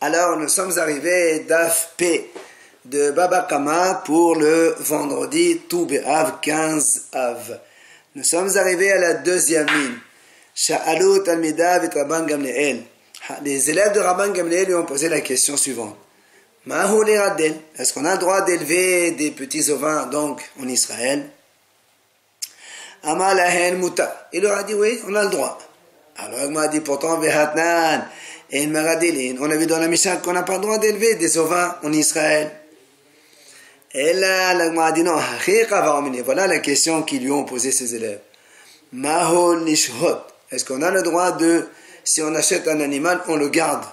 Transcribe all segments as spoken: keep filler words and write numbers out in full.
Alors nous sommes arrivés d'Af P de Baba Kama pour le vendredi Tou B'Av quinze Av. Nous sommes arrivés à la deuxième ligne. Sha'alu Talmidav et Rabban Gamliel. Les élèves de Rabban Gamliel lui ont posé la question suivante. Mahu li radel. Est-ce qu'on a le droit d'élever des petits ovins donc en Israël? Amalahen Muta. Il leur a dit oui, on a le droit. Alors il m'a dit pourtant Vehatnan et Maradilin. On a vu dans la Mishnah qu'on n'a pas le droit d'élever des ovins en Israël. Et là, il m'a dit non. Voilà la question qu'ils lui ont posé ses élèves. Mahol Nishhot. Est-ce qu'on a le droit de, si on achète un animal, on le garde?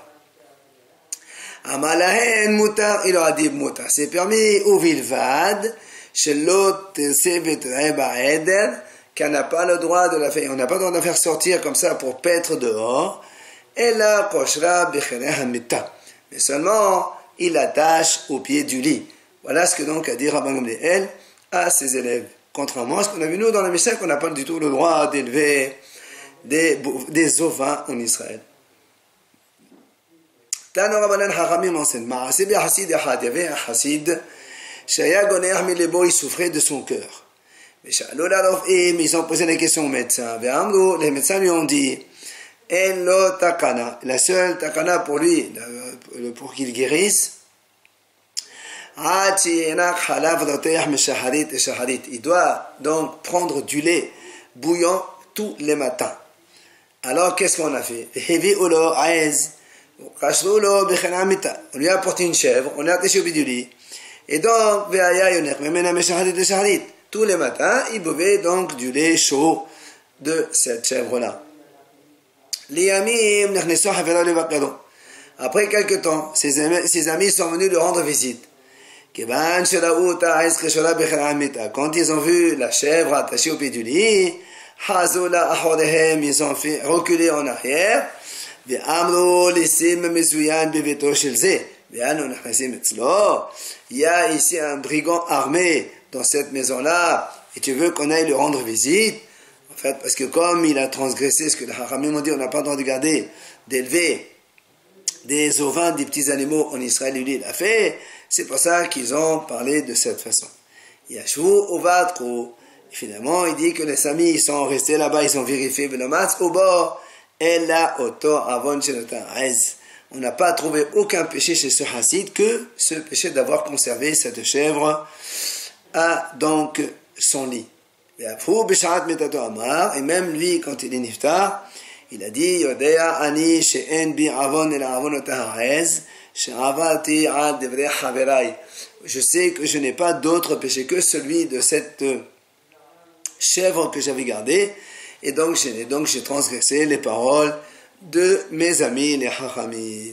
Amalahen Muta. Il leur a dit Muta. C'est permis ou Vilvad. Shelot Sevet Reba Eder. Qu'on n'a pas le droit de la faire, on n'a pas le droit de la faire sortir comme ça pour paître dehors. Et là, koshra b'cheneh hamita. Mais seulement, il l'attache au pied du lit. Voilà ce que donc a dit Rabban Gamliel à ses élèves. Contrairement à ce qu'on a vu nous dans la Mishnah, qu'on n'a pas du tout le droit d'élever des, des ovins en Israël. Tano Rabbanan Hachamim enseigne. Ma'aseh b'chassid echad. Il y avait un chassid, shaya goner milebo, il souffrait de son cœur. Mais ils ont posé la question aux médecins. Les médecins lui ont dit la seule takana pour lui, pour qu'il guérisse, il doit donc prendre du lait bouillant tous les matins. Alors qu'est-ce qu'on a fait? On lui a apporté une chèvre, on lui a attaché au pied du lit. Et donc, tous les matins, il buvait donc du lait chaud de cette chèvre-là. Après quelques temps, ses amis, ses amis sont venus lui rendre visite. Quand ils ont vu la chèvre attachée au pied du lit, ils ont fait reculer en arrière. Il y a ici un brigand armé dans cette maison-là, et tu veux qu'on aille lui rendre visite, en fait, parce que comme il a transgressé ce que les Hachamim ont dit, on n'a pas le droit de garder, d'élever des ovins, des petits animaux en Israël, lui il a fait, c'est pour ça qu'ils ont parlé de cette façon. Yashvu Ovatro, finalement, il dit que les amis, ils sont restés là-bas, ils ont vérifié, au bord, et là, auto avon on n'a pas trouvé aucun péché chez ce Hassid que ce péché d'avoir conservé cette chèvre à donc son lit. Et même lui, quand il est niftar, il a dit je sais que je n'ai pas d'autre péché que celui de cette chèvre que j'avais gardée, et donc j'ai, donc j'ai transgressé les paroles de mes amis les Chachamim.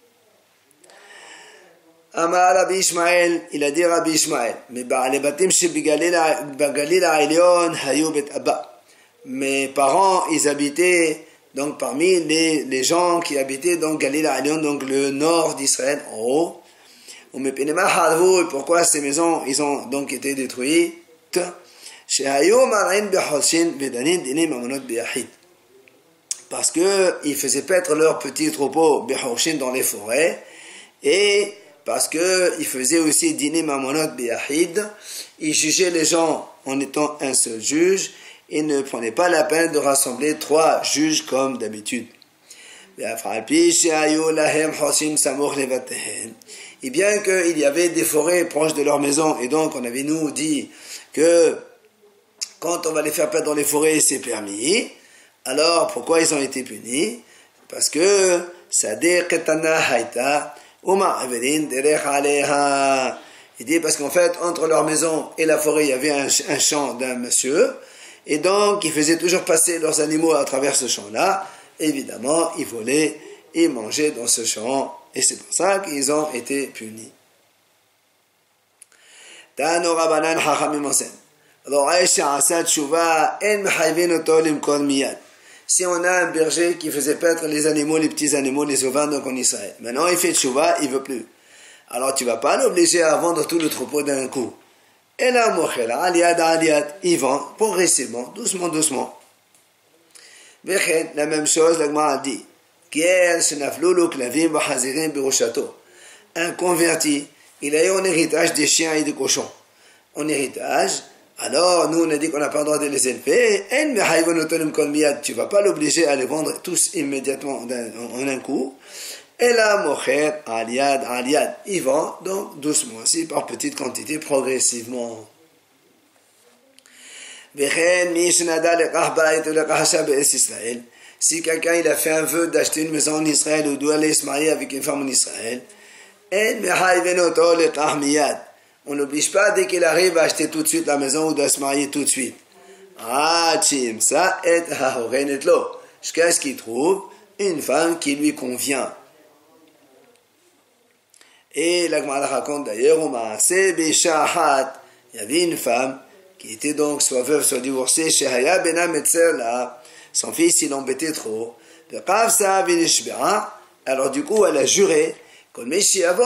Amar Rabbi Ishmael, il a dit Rabbi Ishmael, mais les batim chez Galil Aïlion, Hayou Bet Abba. Mes parents, ils habitaient donc parmi les, les gens qui habitaient donc Galil Aïlion, donc le nord d'Israël, en haut. Et pourquoi ces maisons, ils ont donc été détruites? Parce qu'ils faisaient paître leurs petits troupeaux dans les forêts, et parce qu'ils faisaient aussi dîner mamonot biahid, ils jugeaient les gens en étant un seul juge, et ne prenaient pas la peine de rassembler trois juges comme d'habitude. Et bien qu'il y avait des forêts proches de leur maison, et donc on avait nous dit que quand on va les faire paître dans les forêts, c'est permis. Alors pourquoi ils ont été punis? Parce que Sadeh Ketana Haïta, il dit parce qu'en fait, entre leur maison et la forêt, il y avait un, un champ d'un monsieur, et donc ils faisaient toujours passer leurs animaux à travers ce champ-là. Évidemment, ils volaient et mangeaient dans ce champ, et c'est pour ça qu'ils ont été punis. Tano Rabbanan Hachamim enseigne. Si on a un berger qui faisait paître les animaux, les petits animaux, les ovins, donc en Israël. Maintenant, il fait tchouva, il veut plus. Alors, tu vas pas l'obliger à vendre tout le troupeau d'un coup. Et là, mochela, aliad, aliad, il vend progressivement, doucement, doucement. La même chose, la Gemara a dit. Un converti, il a eu en héritage des chiens et des cochons. En héritage, alors nous on a dit qu'on n'a pas le droit de les élever, tu ne vas pas l'obliger à les vendre tous immédiatement en un coup. Et là, mocher, aliad, aliad, il vend donc doucement aussi, par petites quantités, progressivement. Si quelqu'un il a fait un vœu d'acheter une maison en Israël ou doit aller se marier avec une femme en Israël, on n'oblige pas dès qu'il arrive à acheter tout de suite la maison ou doit se marier tout de suite. Jusqu'à ce qu'il trouve une femme qui lui convient. Et la Gemara raconte d'ailleurs, il y avait une femme qui était donc soit veuve, soit divorcée, son fils il l'embêtait trop. Alors du coup elle a juré, celui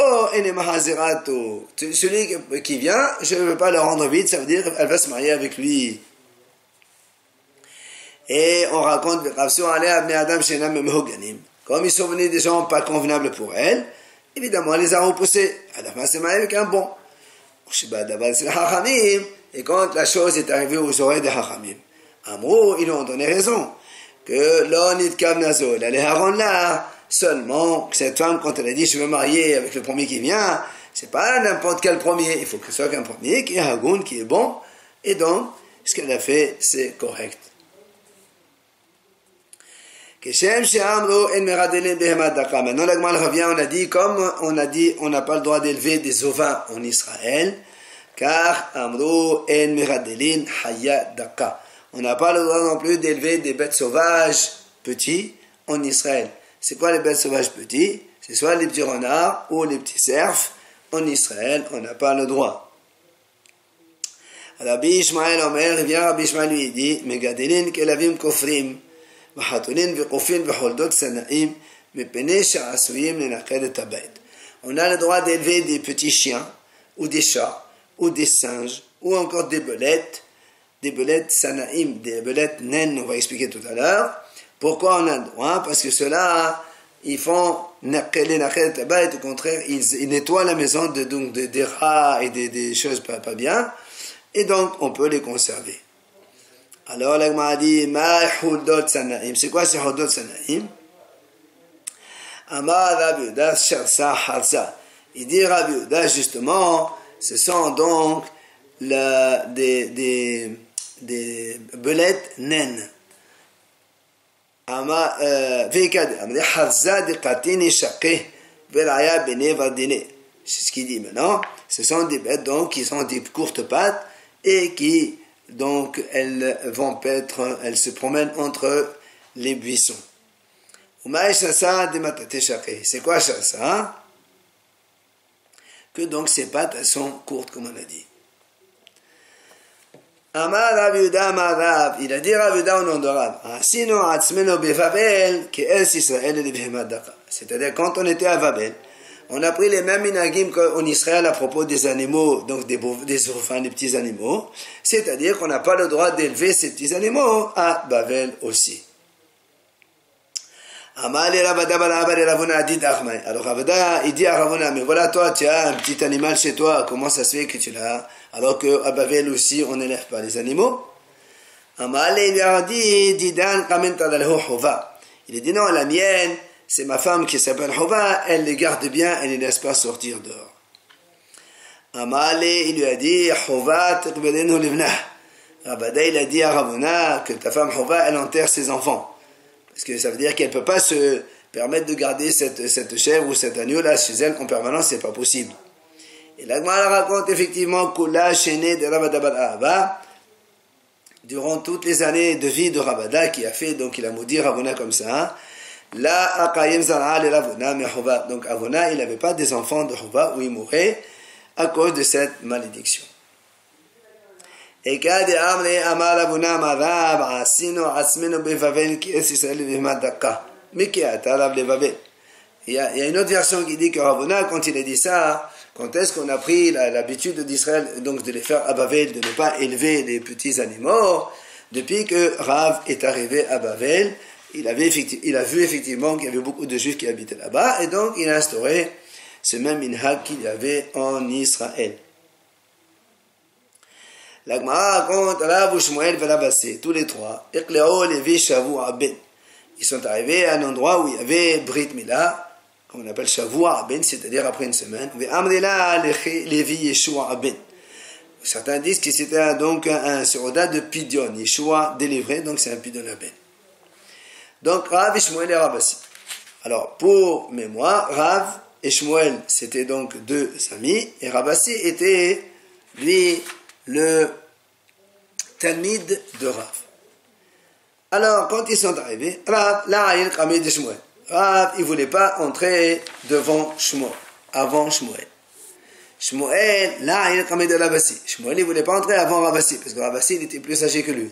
qui vient, je ne veux pas le rendre vite, ça veut dire qu'elle va se marier avec lui. Et on raconte, comme ils sont venus des gens pas convenables pour elle, évidemment, elle les a repoussés. À la fin, c'est marié avec un bon. Et quand la chose est arrivée aux oreilles des Hachamim, Amrou, ils lui ont donné raison. Que l'onit kamnazo, elle allait rendre là. Seulement, cette femme, quand elle a dit je veux me marier avec le premier qui vient, c'est pas n'importe quel premier. Il faut que ce soit un premier qui est hagoun, qui est bon. Et donc, ce qu'elle a fait, c'est correct. Maintenant, la Gemara revient, on a dit, comme on a dit, on n'a pas le droit d'élever des ovins en Israël, car Amro en meradelin haya daka. On n'a pas le droit non plus d'élever des bêtes sauvages petits en Israël. C'est quoi les bêtes sauvages petits? C'est soit les petits renards ou les petits cerfs. En Israël, on n'a pas le droit. Rabbi Ishmael Omer, il vient Rabbi Ishmael lui dit, Megadelin kelavim kofrim. On a le droit d'élever des petits chiens, ou des chats, ou des singes, ou encore des belettes, des belettes sanaïm, des belettes naines, on va expliquer tout à l'heure. Pourquoi on a le droit? Parce que ceux-là, ils font les naqed tabayt, au contraire, ils, ils nettoient la maison de, donc, de, des rats et des, des choses pas, pas bien, et donc on peut les conserver. Alors, la Gemara dit, Ma hudot sanaim. C'est quoi ces hudot sanaim? Amar Rabbi Yehuda sharsa harsa. Il dit Rabbi Yehuda, justement, ce sont donc la, des, des, des belettes naines. Amar, veikad, amar harsa de katini shaqeh, velaya bene vardine. C'est ce qu'il dit maintenant. Ce sont des bêtes, donc, qui sont des courtes pattes et qui donc elles vont paître, elles se promènent entre les buissons. C'est quoi ça? Que donc ces pattes elles sont courtes comme on a dit. Amar Rav Yehuda Amar Rav, il a dit Rav Yehuda au nom de Rav, c'est-à-dire quand on était à Babel, on a pris les mêmes minagim qu'en Israël à propos des animaux, donc des, des enfants, des petits animaux. C'est-à-dire qu'on n'a pas le droit d'élever ces petits animaux à Babel aussi. Alors Ravada, il dit à Ravuna, mais voilà toi, tu as un petit animal chez toi, comment ça se fait que tu l'as? Alors qu'à Babel aussi, on n'élève pas les animaux. Il lui a dit, il a dit non, la mienne, c'est ma femme qui s'appelle Hova, elle les garde bien, elle ne les laisse pas sortir dehors. Amale, il lui a dit, Hova, teqbelenu livnah. Rabada, il a dit à Ravuna que ta femme Hova, elle enterre ses enfants. Parce que ça veut dire qu'elle ne peut pas se permettre de garder cette, cette chèvre ou cet agneau là chez elle en permanence, c'est pas possible. Et la Gemara raconte effectivement Kula Shene de Rabada Bar Ahava, durant toutes les années de vie de Rabada, qui a fait, donc il a maudit Ravuna comme ça, La Akayim Zara le Ravuna mais Hova. Donc Ravuna, il n'avait pas des enfants de Hova où il mourait à cause de cette malédiction. Et quand il a dit Amar Ravuna Marav, Asino Asmeno Bevavel qui est Israël Vimadaka. Mais qui a Tarab le Vavel. Il y a une autre version qui dit que Ravuna, quand il a dit ça, quand est-ce qu'on a pris l'habitude d'Israël, donc de les faire à Bavel, de ne pas élever les petits animaux, depuis que Rav est arrivé à Bavel, il, avait il a vu effectivement qu'il y avait beaucoup de juifs qui habitaient là-bas, et donc il a instauré ce même minhag qu'il y avait en Israël. La Gemara raconte Rav Shmuel et Rav Asi, tous les trois, Iqleo Levi Shavua Ben. Ils sont arrivés à un endroit où il y avait Brit Mila, qu'on appelle Shavua Ben, c'est-à-dire après une semaine. Amrila Levi Yeshua Ben. Certains disent que c'était donc un soldat de Pidion, Yeshua délivré, donc c'est un Pidion Ben. Donc Rav Shmuel et Rav Asi. Alors pour mémoire, Rav et Shmuel c'était donc deux amis, et Rav Asi était lui le Talmid de Rav. Alors, quand ils sont arrivés, Rav, là, il a de Shmuel. Rav, il ne voulait pas entrer devant Shmuel, avant Shmuel. Shmuel, là, il a de Rav Asi. Shmuel, il ne voulait pas entrer avant Rav Asi, parce que Rav Asi, il était plus âgé que lui.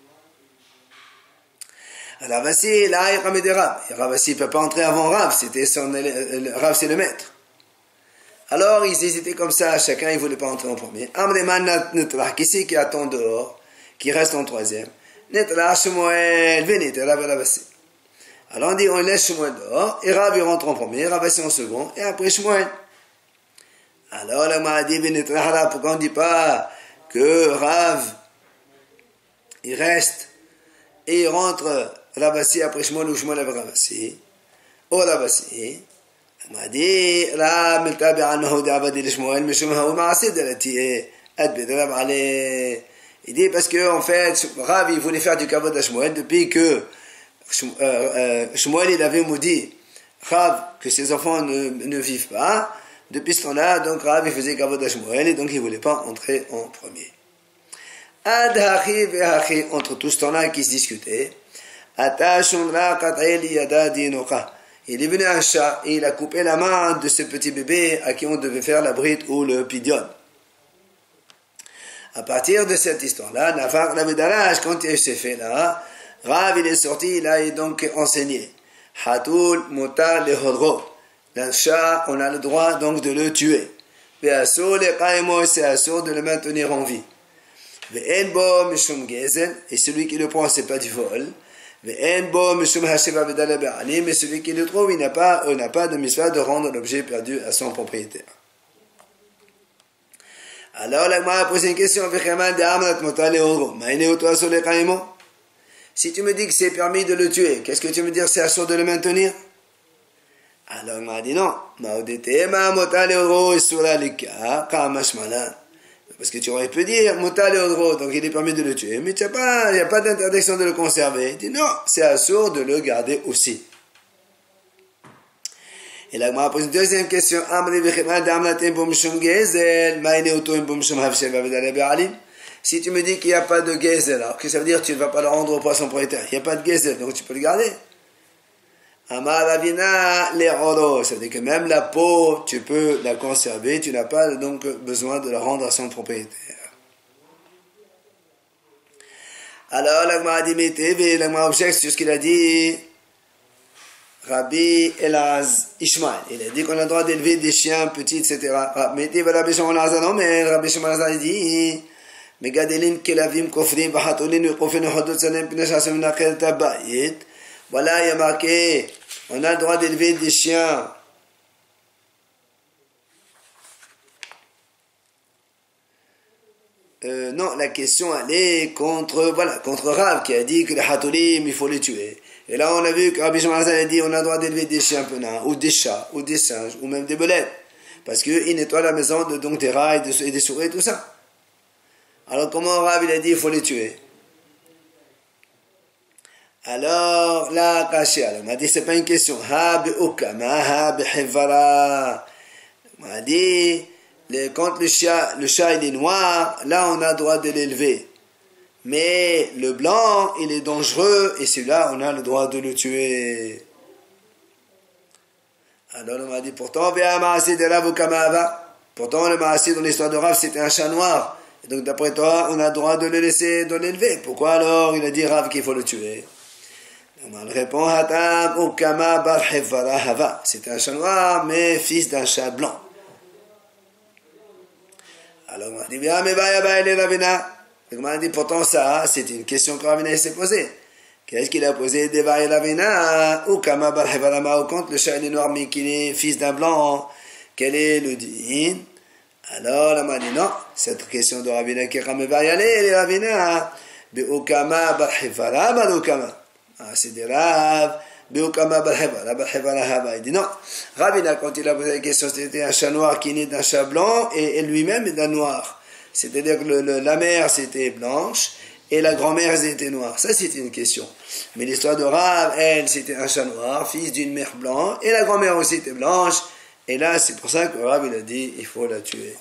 Rav Asi, là, il a de Rav. Et Rav Asi ne peut pas entrer avant Rav, c'était son, Rav, c'est le maître. Alors, ils hésitaient comme ça, chacun, il ne voulait pas entrer en premier. Amreman Netrach, qui c'est qui attend dehors, qui reste en troisième? Netrach, Shmuel, venez, Rav Rav Asi. Alors on dit, on laisse Shmuel dehors, et Rav il rentre en premier, Rav Asi en second, et après Shmuel. Alors, la m'a dit, Netrach, pourquoi on ne dit pas que Rav, il reste, et il rentre Rav Asi après Shmuel, ou Shmuel après Rav Asi, ou Rav Asi. m'a dit لا ملتابع أنه دعوة لشموئيل مشوم هو معصيد التي أدبد رب عليه. Il dit parce que en fait Rav il voulait faire du kavod à Shmuel depuis que Shmuel il avait maudit Rav que ses enfants ne, ne vivent pas. Depuis ce temps-là, donc Rav il faisait kavod à Shmuel et donc il voulait pas entrer en premier. Ad hachi ve hachi, entre tout ce temps-là qui se discutait, atashun ra qat'il yada dinoqa. Il est venu un chat et il a coupé la main de ce petit bébé à qui on devait faire la brite ou le pidion. À partir de cette histoire-là, Nafar Navedarash, quand il s'est fait là, Rav il est sorti, il a donc enseigné. Hatul mutar le hodro. Un chat, on a le droit donc de le tuer. Ve'asur le qaimo, c'est asur de le maintenir en vie. Ve'en bo mishum gezel, et celui qui le prend, c'est pas du vol. Mais celui qui le trouve, il n'a pas, euh, n'a pas de mitzvah de rendre l'objet perdu à son propriétaire. Alors, la Gemara a posé une question. Si tu me dis que c'est permis de le tuer, qu'est-ce que tu me dis, c'est assuré de le maintenir? Alors, il m'a dit non. Parce que tu aurais pu dire, Moutal et Odro, donc il est permis de le tuer, mais il n'y a pas d'interdiction de le conserver. Il dit non, c'est assourd de le garder aussi. Et là, on pose une deuxième question. Si tu me dis qu'il n'y a pas de gezel, alors que ça veut dire que tu ne vas pas le rendre au poisson propriétaire. Il n'y a pas de gezel, donc tu peux le garder. Amar Ravina les rodos, ça veut dire que même la peau, tu peux la conserver, tu n'as pas donc besoin de la rendre à son propriétaire. Alors, la Gemara dit, mais la Gemara objecte sur ce qu'il a dit Rabbi Elaz Ishmael. Il a dit qu'on a le droit d'élever des chiens petits, et cetera. Mais Rabbi Shimon Lazar, non, mais Rabbi Shimon Lazar dit Megadelin kelavim kofrim vachatolin vekofin hodot salem pinashasem nakel tabayit. Voilà, il y a marqué, on a le droit d'élever des chiens euh, non, la question elle est contre, voilà, contre Rav qui a dit que les hatolim, il faut les tuer. Et là, on a vu que Rabbi Shimon a dit on a le droit d'élever des chiens penants, ou des chats, ou des singes, ou même des belettes. Parce qu'ils nettoient la maison de, donc des rats et des, et des souris et tout ça. Alors, comment Rav il a dit il faut les tuer? Alors, là, Kashia, on m'a dit, c'est pas une question. Ha be'ukama, ha be'hevara. On m'a dit, les, quand le chat, le chat il est noir, là on a le droit de l'élever. Mais le blanc, il est dangereux, et celui-là, on a le droit de le tuer. Alors on m'a dit, pourtant, pourtant le maasé dans l'histoire de Rav, c'était un chat noir. Et donc d'après toi, on a le droit de le laisser, de l'élever. Pourquoi alors il a dit Rav qu'il faut le tuer? On répond, c'est un chat noir, mais fils d'un chat blanc. Alors on m'a dit, bien, mais va, va, il est Ravina. On m'a dit, pourtant ça, c'est une question que Ravina s'est posée. Qu'est-ce qu'il a posé? Devaï Ravina, ou Kama Barhevarama, ou contre le chat est noir, mais qu'il est fils d'un blanc. Quel est le din? Alors, la m'a dit non, cette question de Ravina qui va y aller, les Ravina, Beukama Barhevarama, Beukama. Ah, c'est des Rav, Beukama Barhevara, Barhevara, il dit non. Ravina, quand il a posé la question, c'était un chat noir qui naît d'un chat blanc, et, et lui-même est d'un noir. C'est-à-dire que le, le, la mère, c'était blanche, et la grand-mère, elle était noire. Ça, c'était une question. Mais l'histoire de Rav, elle, c'était un chat noir, fils d'une mère blanche, et la grand-mère aussi était blanche. Et là, c'est pour ça que Rav, il a dit, il faut la tuer.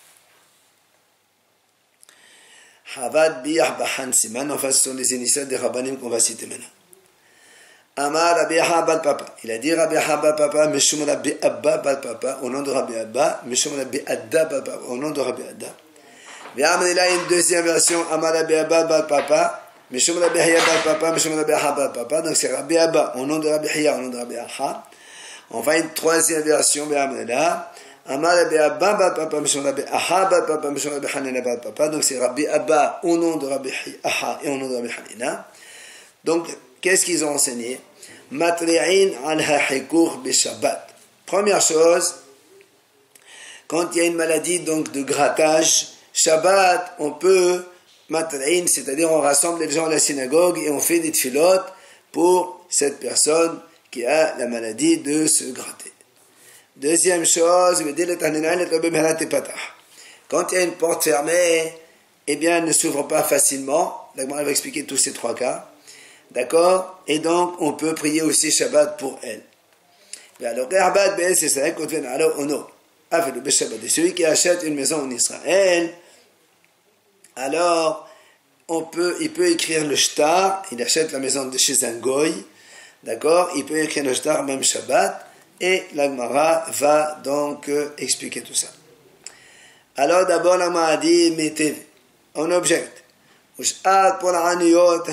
Havad biyah bahan siman, enfin, ce sont les initiales des Rabbanim qu'on va citer maintenant. Amar Rabbi Abba Papa. Il a dit Rabbi Abba Papa, Meshum Rabbi Abba Papa, au nom de Rabbi Abba, Meshum Rabbi Adda Papa, au nom de Rabbi Adda. Bien, il a une deuxième version, Amar Rabbi Abba Papa, Meshum Rabbi Hiya Papa, Meshum Rabbi Abba Papa, donc c'est Rabbi Abba, au nom de Rabbi Hiya, au nom de Rabbi Aha. Enfin, une troisième version, bien, là, Amar Rabbi Abba Papa, Meshum Rabbi Aha Papa, Meshum Rabbi Hanina Papa, donc c'est Rabbi Abba, au nom de Rabbi Aha et au nom de Rabbi Hanina. Donc, qu'est-ce qu'ils ont enseigné? Matri'in al-hahikur bi-shabbat. Première chose, quand il y a une maladie donc de grattage, Shabbat, on peut matri'in, c'est-à-dire on rassemble les gens à la synagogue et on fait des tfilotes pour cette personne qui a la maladie de se gratter. Deuxième chose, quand il y a une porte fermée, eh bien, elle ne s'ouvre pas facilement. La Gemara va expliquer tous ces trois cas. D'accord? Et donc, on peut prier aussi Shabbat pour elle. Alors, c'est ça, quand on vient alors, on a fait le Shabbat. Celui qui achète une maison en Israël, alors, on peut, il peut écrire le shtar, il achète la maison de chez un goy, d'accord? Il peut écrire le shtar, même Shabbat, et la Gemara va donc euh, expliquer tout ça. Alors, d'abord, la Gemara dit, mettez, on objecte. Pour la Haniyot,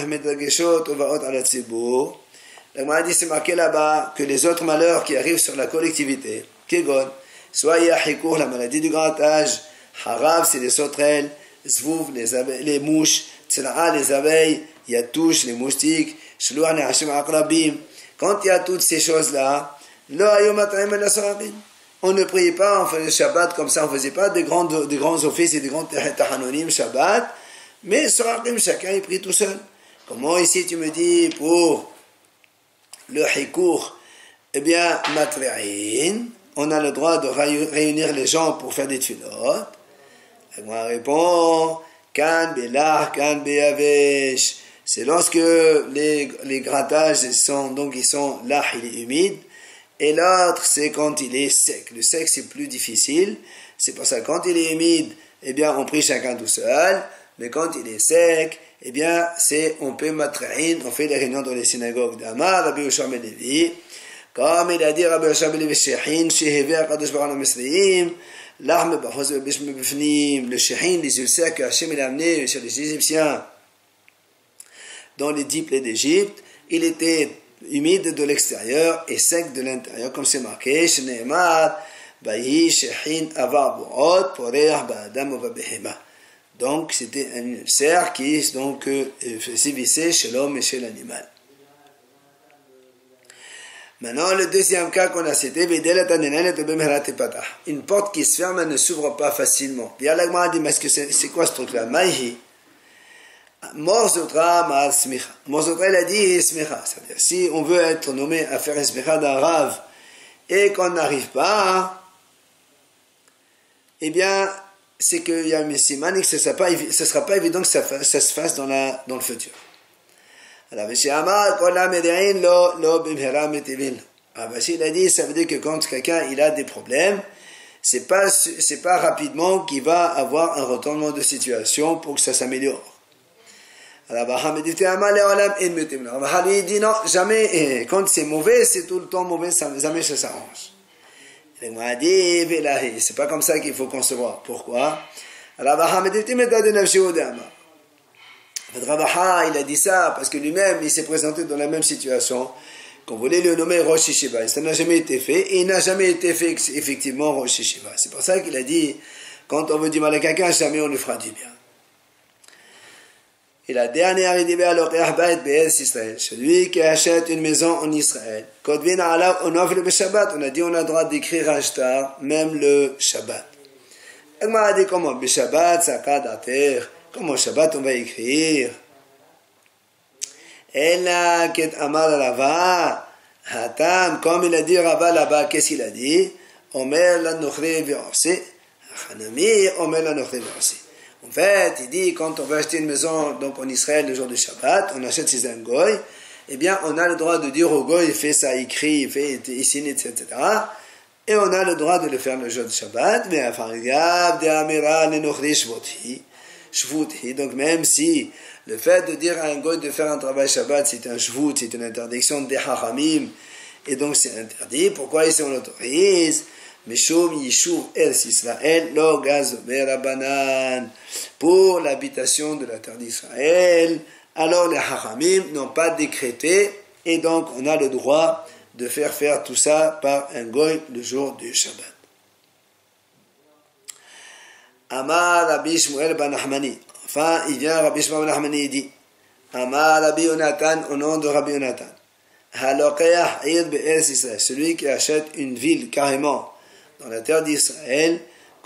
la Gemara dit, c'est marqué là-bas que les autres malheurs qui arrivent sur la collectivité, Kegon, soit Yahikur, la maladie du grand âge, Harav, c'est les sauterelles, Zvouv, les, abeilles, les mouches, Tzela'a, les abeilles, Yatouch, les moustiques, Shluah, les Hashim Akrabim. Quand il y a toutes ces choses-là, on ne priait pas, on faisait le Shabbat comme ça, on ne faisait pas des grands, des grands offices et des grands tahanonim Shabbat, mais Sorakim, chacun il prie tout seul. Comment ici tu me dis pour le Hikour, eh bien, Matri'in, on a le droit de réunir les gens pour faire des tfilotes. Moi répond, Kan Belah, Kan Beyavesh. C'est lorsque les, les grattages sont, donc ils sont là, il est humide. Et l'autre, c'est quand il est sec. Le sec, c'est plus difficile. C'est pour ça, quand il est humide, eh bien, on prie chacun tout seul. Mais quand il est sec, eh bien, c'est, on peut matra'in, on fait les réunions dans les synagogues d'Amar, Rabbi Yoshua ben Levi. Comme il a dit Rabbi Yoshua ben Levi, Shehin, Shehevé, Akadosh Baruch Hu Misraïm, l'arme, Bachos, Bishme Bifnim, le Shehin, les ulcères que Hachem il a amené sur les Égyptiens dans les dix plaies d'Égypte, il était humide de l'extérieur et sec de l'intérieur, comme c'est marqué, Shneemar, Bayi, Shehin, Avar, Boot, Poreach, Ba'adam, Ovabehema. Donc, c'était un ulcère qui donc euh, sévissait chez l'homme et chez l'animal. Maintenant, le deuxième cas qu'on a cité, une porte qui se ferme, elle ne s'ouvre pas facilement. Puis Allah m'a dit, mais est-ce que c'est, c'est quoi ce truc-là? Maïhi. Morzotra ma'al smicha. Morzotra, il a dit smicha. C'est-à-dire, si on veut être nommé à faire un smicha d'un rave et qu'on n'arrive pas, eh bien, c'est qu'il y a un siman et que ce ne sera pas, ce sera pas évident que ça, ça se fasse dans, la, dans le futur. Alors, M. Amar, il a dit, ça veut dire que quand quelqu'un il a des problèmes, c'est pas, c'est pas rapidement qu'il va avoir un retournement de situation pour que ça s'améliore. Alors, Baham dit, il dit non, jamais, quand c'est mauvais, c'est tout le temps mauvais, jamais ça s'arrange. Il m'a dit, c'est pas comme ça qu'il faut concevoir. Pourquoi? Alors, Baham dit, il a dit ça parce que lui-même, il s'est présenté dans la même situation, qu'on voulait le nommer Rosh Yeshiva. Ça n'a jamais été fait, et il n'a jamais été fait effectivement Rosh Yeshiva. C'est pour ça qu'il a dit, quand on veut du mal à quelqu'un, jamais on lui fera du bien. Et la dernière, il dit, celui qui achète une maison en Israël. On a dit, on a le droit d'écrire un shtar, même le Shabbat. Elle m'a dit, comment? Le Shabbat, ça cadre terre. Comment Shabbat, on va écrire? Elle a, qu'est Amar Rava, Hatam, comme il a dit Rava là-bas, qu'est-ce qu'il a dit? Omer la nochri v'orsi, Hanami, Omer la nochri v'orsi. En fait, il dit, quand on veut acheter une maison donc en Israël le jour du Shabbat, on achète chez un goy, eh bien, on a le droit de dire au goy, il fait ça écrit, il fait, il signe, et cetera. Et on a le droit de le faire le jour du Shabbat, mais enfin, regarde, de Amira, le nochri shvoti, shvoti. Donc, même si le fait de dire à un goy de faire un travail Shabbat, c'est un shvut, c'est une interdiction des haramim, et donc c'est interdit, pourquoi ici on l'autorise? Meshum Yishuv El Israël, lo gazomer Rabanan, pour l'habitation de la terre d'Israël. Alors les Haramim n'ont pas décrété, et donc on a le droit de faire faire tout ça par un goy le jour du Shabbat. Amar Rabbi Shmuel ben Nachmani. Enfin, il vient Rabbi Shmuel ben Nachmani et dit, Amar Rabbi Yonatan, au nom de Rabbi Yonatan, Halokeach Ir Be'ez Israël, celui qui achète une ville carrément dans la terre d'Israël,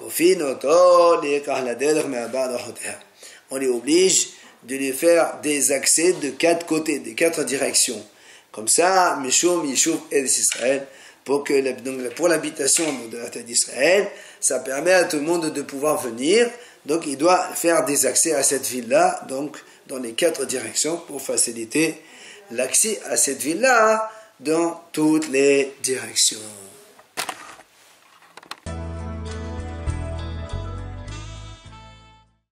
on les oblige de lui faire des accès de quatre côtés, de quatre directions. Comme ça, Mishum Yishuv El Israël, pour que donc, pour l'habitation de la terre d'Israël, ça permet à tout le monde de pouvoir venir. Donc, il doit faire des accès à cette ville-là, donc dans les quatre directions, pour faciliter l'accès à cette ville-là dans toutes les directions.